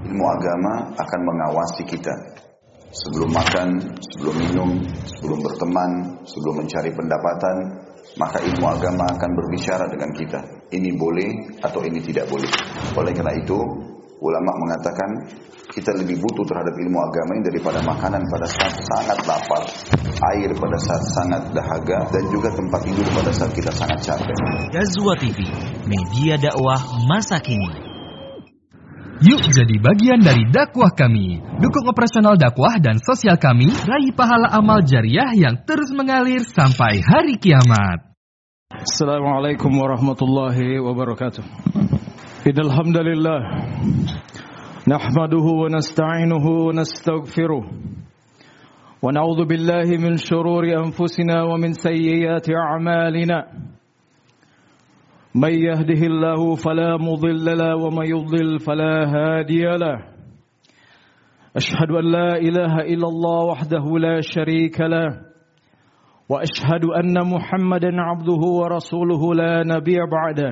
Ilmu agama akan mengawasi kita. Sebelum makan, sebelum minum, sebelum berteman, sebelum mencari pendapatan, maka ilmu agama akan berbicara dengan kita. Ini boleh atau ini tidak boleh. Oleh karena itu, ulama mengatakan kita lebih butuh terhadap ilmu agama ini daripada makanan pada saat sangat lapar, air pada saat sangat dahaga, dan juga tempat tidur pada saat kita sangat capek. Ghazwa TV, media dakwah masa kini. Yuk jadi bagian dari dakwah kami. Dukung operasional dakwah dan sosial kami, raih pahala amal jariah yang terus mengalir sampai hari kiamat. Assalamualaikum warahmatullahi wabarakatuh. Innal hamdalillah nahmaduhu wa nasta'inuhu wa nastaghfiruh. Wa na'udzu billahi min shururi anfusina wa min sayyiati a'malina. من يهده الله فلا مضل له ومن يضلل فلا هادي له أشهد أن لا إله إلا الله وحده لا شريك له وأشهد أن محمدا عبده ورسوله لا نبي بعده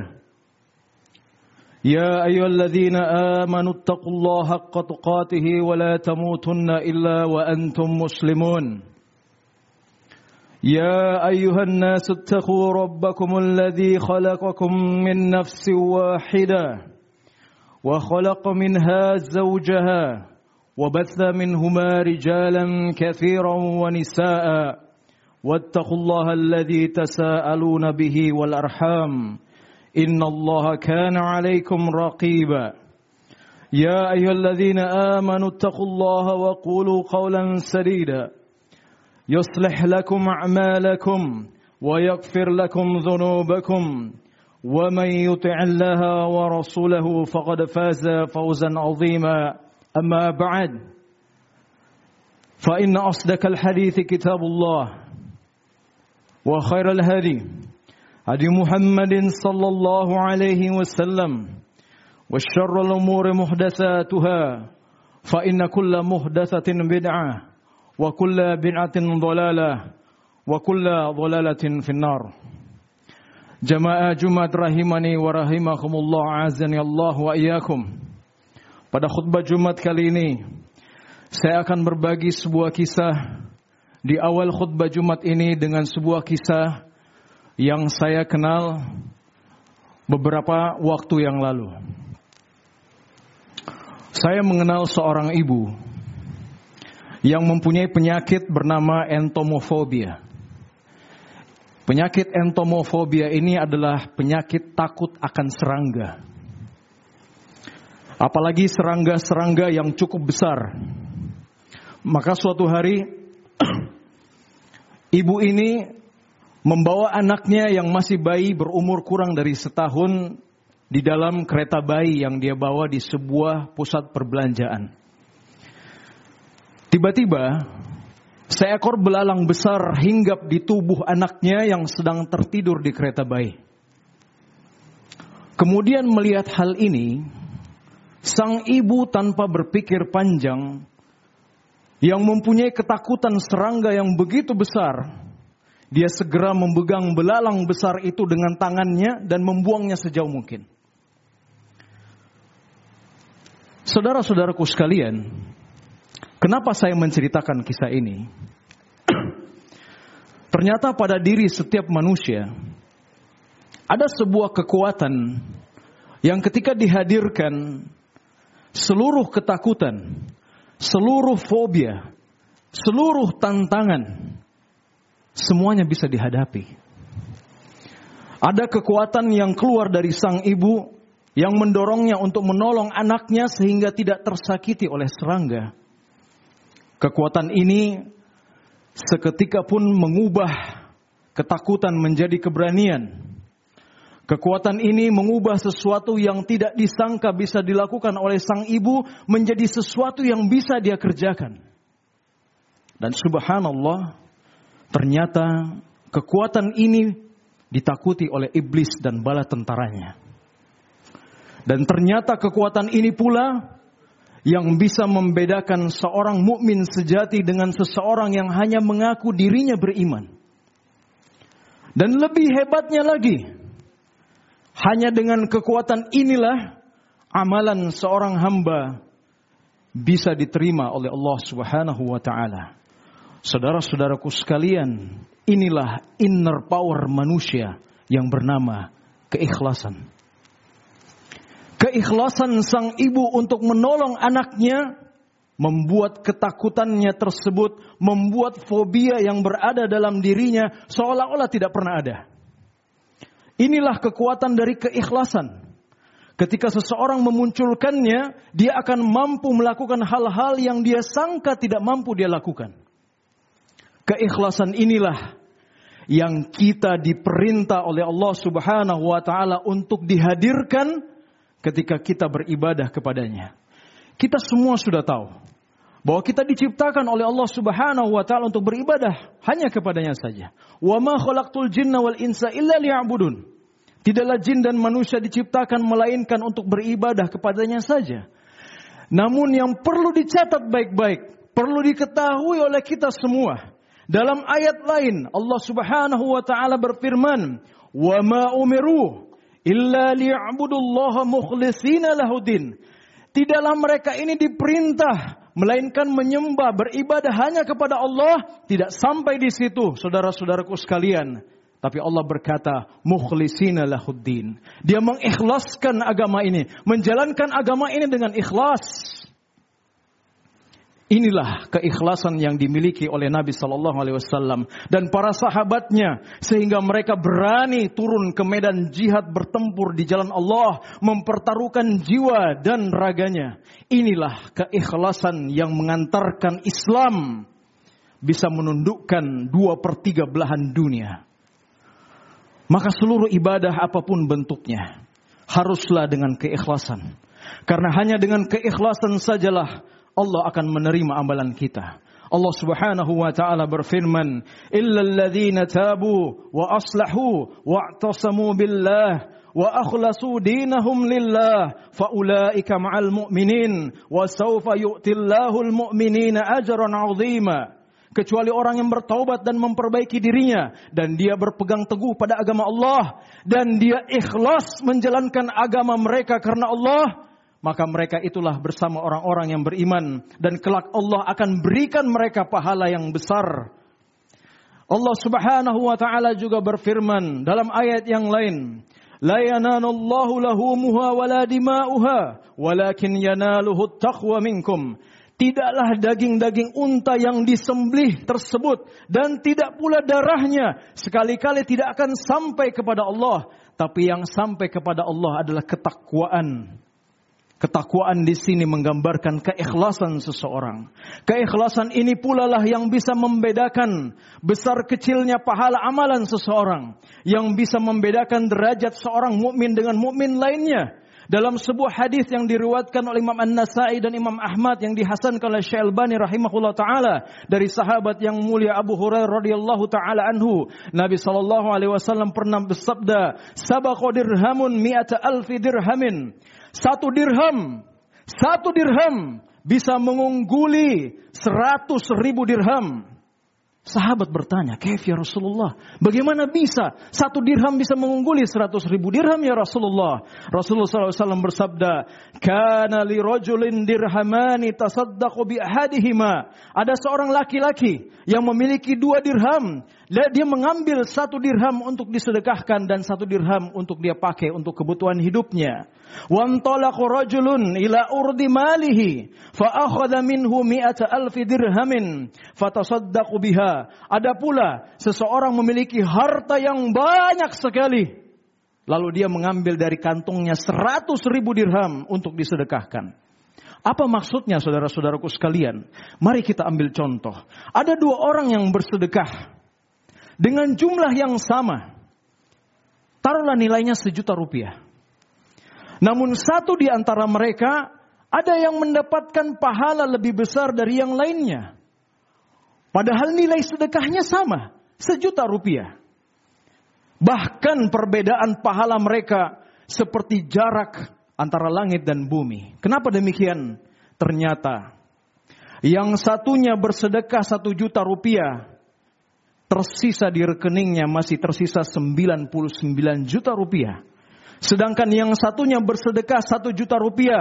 يا أيها الذين آمنوا اتقوا الله حق تقاته ولا تموتن إلا وأنتم مسلمون يا أيها الناس اتقوا ربكم الذي خلقكم من نفس واحدة وخلق منها زوجها وبث منهما رجالا كثيرا ونساء واتقوا الله الذي تساءلون به والأرحام إن الله كان عليكم رقيبا يا أيها الذين آمنوا اتقوا الله وقولوا قولا سديدا يصلح لكم أعمالكم ويغفر لكم ذنوبكم ومن يطع الله ورسوله فقد فاز فوزا عظيما أما بعد فإن أصدق الحديث كتاب الله وخير الهدي هدي محمد صلى الله عليه وسلم وشر الأمور محدثاتها فإن كل محدثة بدعة wa kulla bid'atin dhalalah wa kulla dhalalatin finnar. Jamaah Jumat rahimani wa rahimakumullah, azani Allah wa iyyakum. Pada khutbah Jumat kali ini saya akan berbagi sebuah kisah di awal khutbah Jumat ini dengan sebuah kisah yang saya kenal beberapa waktu yang lalu. Saya mengenal seorang ibu yang mempunyai penyakit bernama entomofobia. Penyakit entomofobia ini adalah penyakit takut akan serangga. Apalagi serangga-serangga yang cukup besar. Maka suatu hari ibu ini membawa anaknya yang masih bayi berumur kurang dari setahun di dalam kereta bayi yang dia bawa di sebuah pusat perbelanjaan. Tiba-tiba, seekor belalang besar hinggap di tubuh anaknya yang sedang tertidur di kereta bayi. Kemudian melihat hal ini, sang ibu tanpa berpikir panjang, yang mempunyai ketakutan serangga yang begitu besar, dia segera memegang belalang besar itu dengan tangannya dan membuangnya sejauh mungkin. Saudara-saudaraku sekalian, kenapa saya menceritakan kisah ini? Ternyata pada diri setiap manusia ada sebuah kekuatan yang ketika dihadirkan, seluruh ketakutan, seluruh fobia, seluruh tantangan, semuanya bisa dihadapi. Ada kekuatan yang keluar dari sang ibu yang mendorongnya untuk menolong anaknya sehingga tidak tersakiti oleh serangga. Kekuatan ini seketika pun mengubah ketakutan menjadi keberanian. Kekuatan ini mengubah sesuatu yang tidak disangka bisa dilakukan oleh sang ibu menjadi sesuatu yang bisa dia kerjakan. Dan subhanallah, ternyata kekuatan ini ditakuti oleh iblis dan bala tentaranya. Dan ternyata kekuatan ini pula yang bisa membedakan seorang mukmin sejati dengan seseorang yang hanya mengaku dirinya beriman. Dan lebih hebatnya lagi, hanya dengan kekuatan inilah amalan seorang hamba bisa diterima oleh Allah Subhanahu wa taala. Saudara-saudaraku sekalian, inilah inner power manusia yang bernama keikhlasan. Keikhlasan sang ibu untuk menolong anaknya membuat ketakutannya tersebut, membuat fobia yang berada dalam dirinya seolah-olah tidak pernah ada. Inilah kekuatan dari keikhlasan. Ketika seseorang memunculkannya, dia akan mampu melakukan hal-hal yang dia sangka tidak mampu dia lakukan. Keikhlasan inilah yang kita diperintah oleh Allah Subhanahu wa taala untuk dihadirkan ketika kita beribadah kepadanya. Kita semua sudah tahu bahwa kita diciptakan oleh Allah Subhanahu wa taala untuk beribadah hanya kepadanya saja. Wa ma khalaqtul jinna wal insa illa liya'budun. Tidaklah jin dan manusia diciptakan melainkan untuk beribadah kepadanya saja. Namun yang perlu dicatat baik-baik, perlu diketahui oleh kita semua. Dalam ayat lain Allah Subhanahu wa taala berfirman, "Wa ma umiru illa liya'budullaha mukhlishina lahuddin." Tidaklah mereka ini diperintah melainkan menyembah, beribadah hanya kepada Allah. Tidak sampai di situ, saudara-saudaraku sekalian. Tapi Allah berkata, mukhlishina lahuddin. Dia mengikhlaskan agama ini, menjalankan agama ini dengan ikhlas. Inilah keikhlasan yang dimiliki oleh Nabi SAW dan para sahabatnya, sehingga mereka berani turun ke medan jihad bertempur di jalan Allah, mempertaruhkan jiwa dan raganya. Inilah keikhlasan yang mengantarkan Islam bisa menundukkan 2/3 belahan dunia. Maka seluruh ibadah apapun bentuknya haruslah dengan keikhlasan. Karena hanya dengan keikhlasan sajalah Allah akan menerima amalan kita. Allah Subhanahu wa taala berfirman, "Illal ladzina tabu wa aslahu wa'tasamu billah wa akhlasu dinahum lillah faulaika ma'al mu'minin wa sawfa yu'tillahu al-mu'minina ajran 'azima." Kecuali orang yang bertaubat dan memperbaiki dirinya dan dia berpegang teguh pada agama Allah dan dia ikhlas menjalankan agama mereka karena Allah, maka mereka itulah bersama orang-orang yang beriman dan kelak Allah akan berikan mereka pahala yang besar. Allah Subhanahu wa taala juga berfirman dalam ayat yang lain, "La yanalullahu lahumuha wala dima'uha, walakin yanaluhu at-taqwa minkum." Tidaklah daging-daging unta yang disembelih tersebut dan tidak pula darahnya sekali-kali tidak akan sampai kepada Allah, tapi yang sampai kepada Allah adalah ketakwaan. Ketakwaan di sini menggambarkan keikhlasan seseorang. Keikhlasan ini pula lah yang bisa membedakan besar kecilnya pahala amalan seseorang, yang bisa membedakan derajat seorang mukmin dengan mukmin lainnya. Dalam sebuah hadis yang diriwayatkan oleh Imam An-Nasa'i dan Imam Ahmad yang dihasankan oleh Syekh Albani rahimahullah taala dari sahabat yang mulia Abu Hurairah radhiyallahu taala anhu, Nabi sallallahu alaihi wasallam pernah bersabda, "Sabaqa dirhamun mi'ata alfi dirhamin." Satu dirham bisa mengungguli 100.000 dirham. Sahabat bertanya, "Kaif ya Rasulullah? Bagaimana bisa 1 dirham bisa mengungguli 100.000 dirham ya Rasulullah?" Rasulullah SAW bersabda, "Kana li rajulin dirhamani tasaddaqu bi ahadihima." Ada seorang laki-laki yang memiliki 2 dirham. Dia mengambil 1 dirham untuk disedekahkan dan 1 dirham untuk dia pakai untuk kebutuhan hidupnya. وَانْطَلَقَ رَجُلٌ إِلَى أُرْضِ مَالِهِ فَأَخَذَ مِنْهُ 100,000 dirhamin فَتَصَدَّقُ بِهَا. Ada pula seseorang memiliki harta yang banyak sekali, lalu dia mengambil dari kantongnya 100.000 dirham untuk disedekahkan. Apa maksudnya saudara-saudaraku sekalian? Mari kita ambil contoh. Ada 2 orang yang bersedekah dengan jumlah yang sama. Taruhlah nilainya 1 juta rupiah. Namun satu di antara mereka ada yang mendapatkan pahala lebih besar dari yang lainnya. Padahal nilai sedekahnya sama, 1 juta rupiah. Bahkan perbedaan pahala mereka seperti jarak antara langit dan bumi. Kenapa demikian? Ternyata yang satunya bersedekah 1 juta rupiah, tersisa di rekeningnya masih tersisa 99 juta rupiah. Sedangkan yang satunya bersedekah 1 juta rupiah,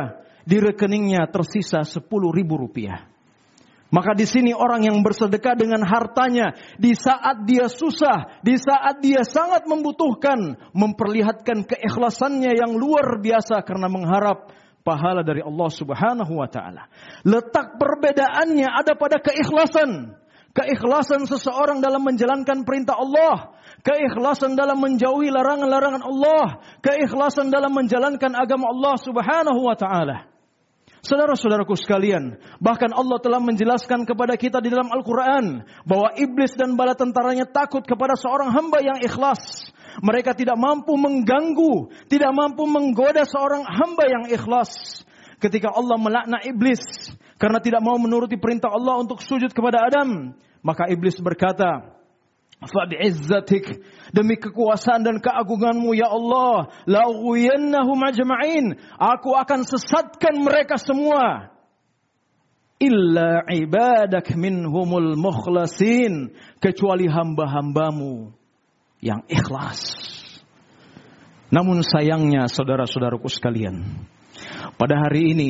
di rekeningnya tersisa 10.000 rupiah. Maka di sini orang yang bersedekah dengan hartanya di saat dia susah, di saat dia sangat membutuhkan, memperlihatkan keikhlasannya yang luar biasa karena mengharap pahala dari Allah Subhanahu wa taala. Letak perbedaannya ada pada keikhlasan. Keikhlasan seseorang dalam menjalankan perintah Allah, keikhlasan dalam menjauhi larangan-larangan Allah, keikhlasan dalam menjalankan agama Allah Subhanahu wa taala. Saudara-saudaraku sekalian, bahkan Allah telah menjelaskan kepada kita di dalam Al-Quran bahwa iblis dan bala tentaranya takut kepada seorang hamba yang ikhlas. Mereka tidak mampu mengganggu, tidak mampu menggoda seorang hamba yang ikhlas. Ketika Allah melaknat iblis karena tidak mau menuruti perintah Allah untuk sujud kepada Adam, maka iblis berkata, "Fabi'izzatik, demi kekuasaan dan keagunganmu ya Allah, la'ughwiyannahum ajma'in, aku akan sesatkan mereka semua. Illa ibadak minhumul mukhlasin, kecuali hamba-hambamu yang ikhlas." Namun sayangnya saudara-saudaraku sekalian, pada hari ini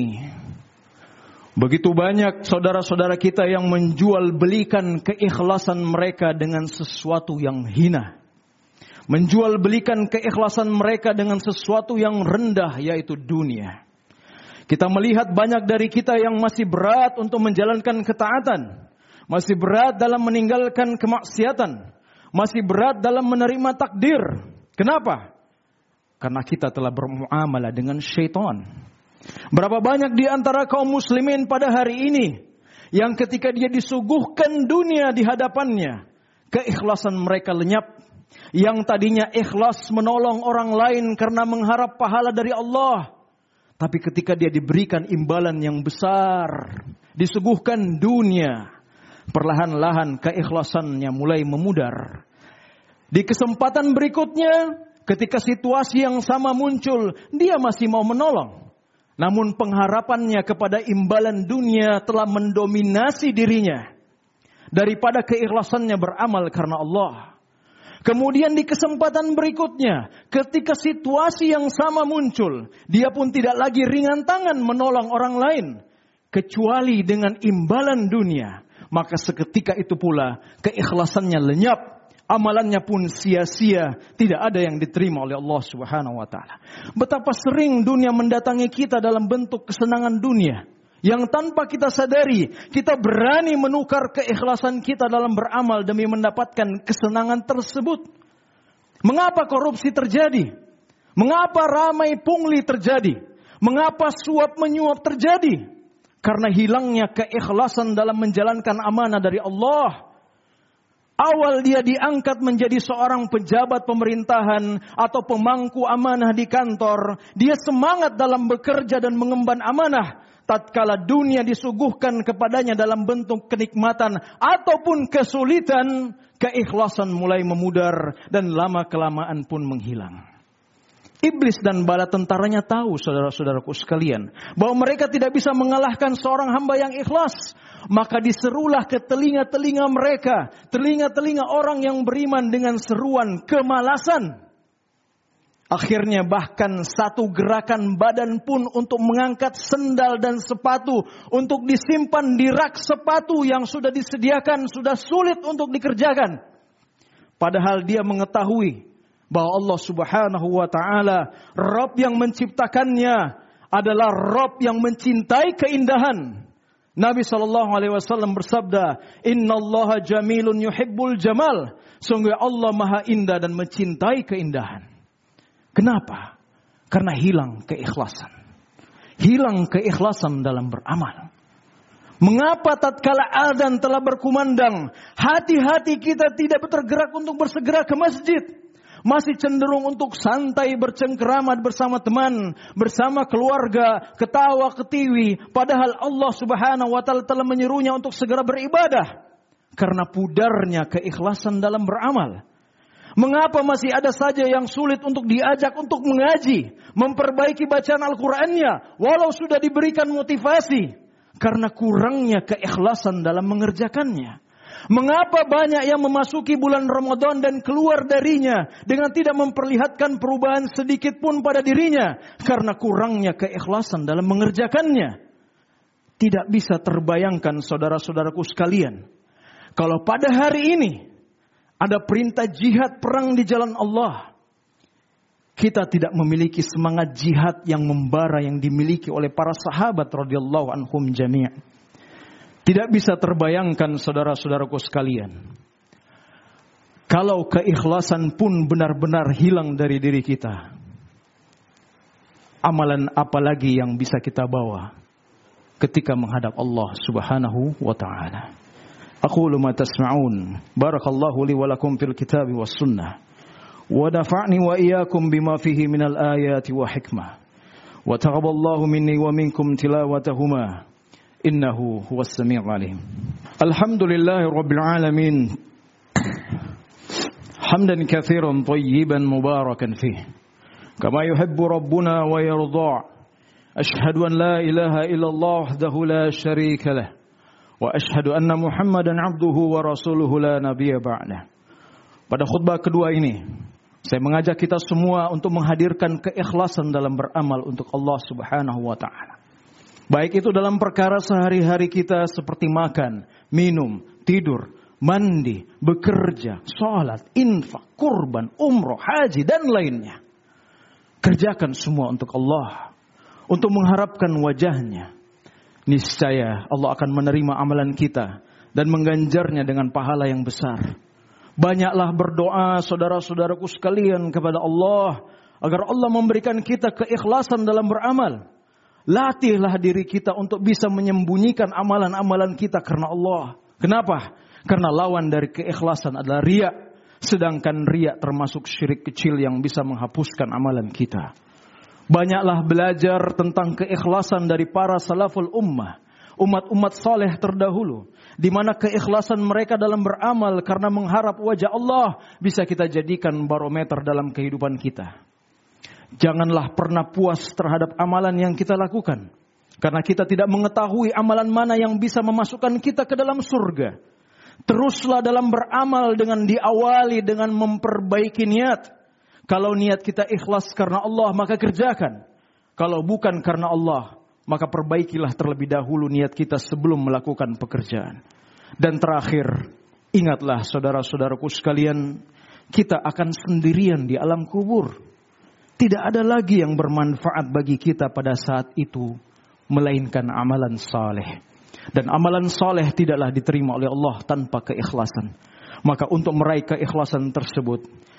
begitu banyak saudara-saudara kita yang menjual belikan keikhlasan mereka dengan sesuatu yang hina. Menjual belikan keikhlasan mereka dengan sesuatu yang rendah, yaitu dunia. Kita melihat banyak dari kita yang masih berat untuk menjalankan ketaatan. Masih berat dalam meninggalkan kemaksiatan. Masih berat dalam menerima takdir. Kenapa? Karena kita telah bermuamalah dengan syaitan. Berapa banyak di antara kaum muslimin pada hari ini yang ketika dia disuguhkan dunia di hadapannya, keikhlasan mereka lenyap. Yang tadinya ikhlas menolong orang lain karena mengharap pahala dari Allah, tapi ketika dia diberikan imbalan yang besar, disuguhkan dunia, perlahan-lahan keikhlasannya mulai memudar. Di kesempatan berikutnya, ketika situasi yang sama muncul, dia masih mau menolong. Namun pengharapannya kepada imbalan dunia telah mendominasi dirinya daripada keikhlasannya beramal karena Allah. Kemudian di kesempatan berikutnya, ketika situasi yang sama muncul, dia pun tidak lagi ringan tangan menolong orang lain, kecuali dengan imbalan dunia. Maka seketika itu pula keikhlasannya lenyap. Amalannya pun sia-sia, tidak ada yang diterima oleh Allah Subhanahu wa taala. Betapa sering dunia mendatangi kita dalam bentuk kesenangan dunia yang tanpa kita sadari, kita berani menukar keikhlasan kita dalam beramal demi mendapatkan kesenangan tersebut. Mengapa korupsi terjadi? Mengapa ramai pungli terjadi? Mengapa suap menyuap terjadi? Karena hilangnya keikhlasan dalam menjalankan amanah dari Allah. Awal dia diangkat menjadi seorang pejabat pemerintahan atau pemangku amanah di kantor. Dia semangat dalam bekerja dan mengemban amanah. Tatkala dunia disuguhkan kepadanya dalam bentuk kenikmatan ataupun kesulitan, keikhlasan mulai memudar dan lama-kelamaan pun menghilang. Iblis dan bala tentaranya tahu, saudara-saudaraku sekalian, bahwa mereka tidak bisa mengalahkan seorang hamba yang ikhlas. Maka diserulah ke telinga-telinga mereka, telinga-telinga orang yang beriman dengan seruan kemalasan. Akhirnya bahkan satu gerakan badan pun untuk mengangkat sendal dan sepatu, untuk disimpan di rak sepatu yang sudah disediakan, sudah sulit untuk dikerjakan. Padahal dia mengetahui bahwa Allah Subhanahu wa taala, Rabb yang menciptakannya, adalah Rabb yang mencintai keindahan. Nabi SAW bersabda, "Innallaha jamilun yuhibbul jamal." Sungguh Allah maha indah dan mencintai keindahan. Kenapa? Karena hilang keikhlasan. Hilang keikhlasan dalam beramal. Mengapa tatkala adzan telah berkumandang, hati-hati kita tidak tergerak untuk bersegera ke masjid? Masih cenderung untuk santai bercengkeramat bersama teman, bersama keluarga, ketawa ketiwi. Padahal Allah Subhanahu wa taala telah menyerunya untuk segera beribadah. Karena pudarnya keikhlasan dalam beramal. Mengapa masih ada saja yang sulit untuk diajak untuk mengaji, memperbaiki bacaan Al-Qur'annya, walau sudah diberikan motivasi? Karena kurangnya keikhlasan dalam mengerjakannya. Mengapa banyak yang memasuki bulan Ramadan dan keluar darinya dengan tidak memperlihatkan perubahan sedikit pun pada dirinya? Karena kurangnya keikhlasan dalam mengerjakannya. Tidak bisa terbayangkan saudara-saudaraku sekalian, kalau pada hari ini ada perintah jihad perang di jalan Allah, kita tidak memiliki semangat jihad yang membara yang dimiliki oleh para sahabat radhiyallahu anhum jami'. Tidak bisa terbayangkan saudara-saudaraku sekalian, kalau keikhlasan pun benar-benar hilang dari diri kita, amalan apa lagi yang bisa kita bawa ketika menghadap Allah Subhanahu wa ta'ala. Aqulu ma tasma'un. Barakallahu li wa lakum fil kitabi was sunnah. ونفعني وإياكم بما فيه من الآيات وحكمة وتقبل الله مني ومنكم تلاوتهما إنه هو السميع العليم. الحمد لله رب العالمين حمدا كثيرا طيبا مباركا فيه كما يحب ربنا ويرضى. أشهد أن لا إله إلا الله وحده لا شريك له وأشهد أن محمدا عبده ورسوله لا نبي بعده. Pada khutbah kedua ini, saya mengajak kita semua untuk menghadirkan keikhlasan dalam beramal untuk Allah Subhanahu wa ta'ala. Baik itu dalam perkara sehari-hari kita seperti makan, minum, tidur, mandi, bekerja, sholat, infak, kurban, umroh, haji, dan lainnya. Kerjakan semua untuk Allah, untuk mengharapkan wajahnya. Niscaya Allah akan menerima amalan kita dan mengganjarnya dengan pahala yang besar. Banyaklah berdoa saudara-saudaraku sekalian kepada Allah agar Allah memberikan kita keikhlasan dalam beramal. Latihlah diri kita untuk bisa menyembunyikan amalan-amalan kita karena Allah. Kenapa? Karena lawan dari keikhlasan adalah riya. Sedangkan riya termasuk syirik kecil yang bisa menghapuskan amalan kita. Banyaklah belajar tentang keikhlasan dari para salaful ummah, umat-umat saleh terdahulu, di mana keikhlasan mereka dalam beramal karena mengharap wajah Allah bisa kita jadikan barometer dalam kehidupan kita. Janganlah pernah puas terhadap amalan yang kita lakukan, karena kita tidak mengetahui amalan mana yang bisa memasukkan kita ke dalam surga. Teruslah dalam beramal dengan diawali dengan memperbaiki niat. Kalau niat kita ikhlas karena Allah, maka kerjakan. Kalau bukan karena Allah, maka perbaikilah terlebih dahulu niat kita sebelum melakukan pekerjaan. Dan terakhir, ingatlah saudara-saudaraku sekalian, kita akan sendirian di alam kubur. Tidak ada lagi yang bermanfaat bagi kita pada saat itu, melainkan amalan saleh. Dan amalan saleh tidaklah diterima oleh Allah tanpa keikhlasan. Maka untuk meraih keikhlasan tersebut,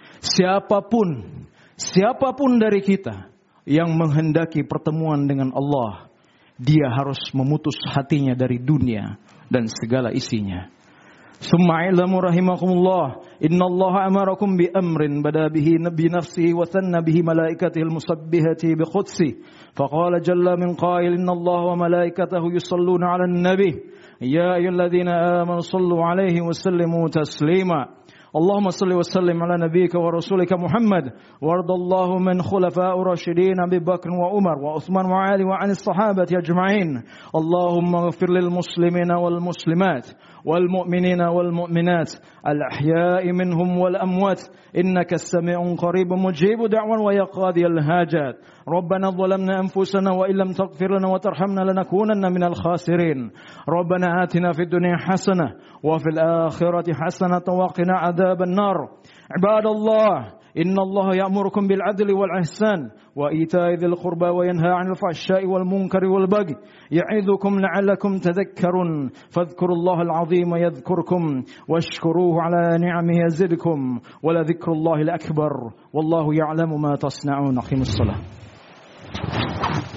siapapun dari kita yang menghendaki pertemuan dengan Allah, dia harus memutus hatinya dari dunia dan segala isinya. Summa ilamu rahimakumullah, innallaha amarakum bi amrin bada bihi nabi nafsihi wa thanna bihi malaikatihil musabbihati bi qudsi. Faqala jalla min qail innallaha wa malaikatahu yusalluna 'alan nabi ya ayyuhalladzina amanu sallu 'alaihi wa sallimu taslima. اللهم صل وسلم على نبيك ورسولك محمد وارض الله من خلفاء الراشدين أبي بكر وعمر وعثمان وعلي وعن الصحابة أجمعين. اللهم اغفر للمسلمين والمسلمات والمؤمنين والمؤمنات الأحياء منهم والأموات إنك السميع قريب مجيب دعوى ويا قاضي الحاجات. ربنا ظلمنا أنفسنا وإن لم تغفر لنا وترحمنا لنكونن من الخاسرين. ربنا آتنا في الدنيا حسنة وفي الآخرة حسنة وقنا عذاب النار. عباد الله إن الله يأمركم بالعدل والإحسان وإيتاء ذي القربى وينهى عن الفحشاء والمنكر والبغي يعظكم لعلكم تذكرون. فاذكروا الله العظيم يذكركم واشكروه على نعمه يزدكم ولذكر الله الأكبر والله يعلم ما تصنعون. أقيموا الصلاة.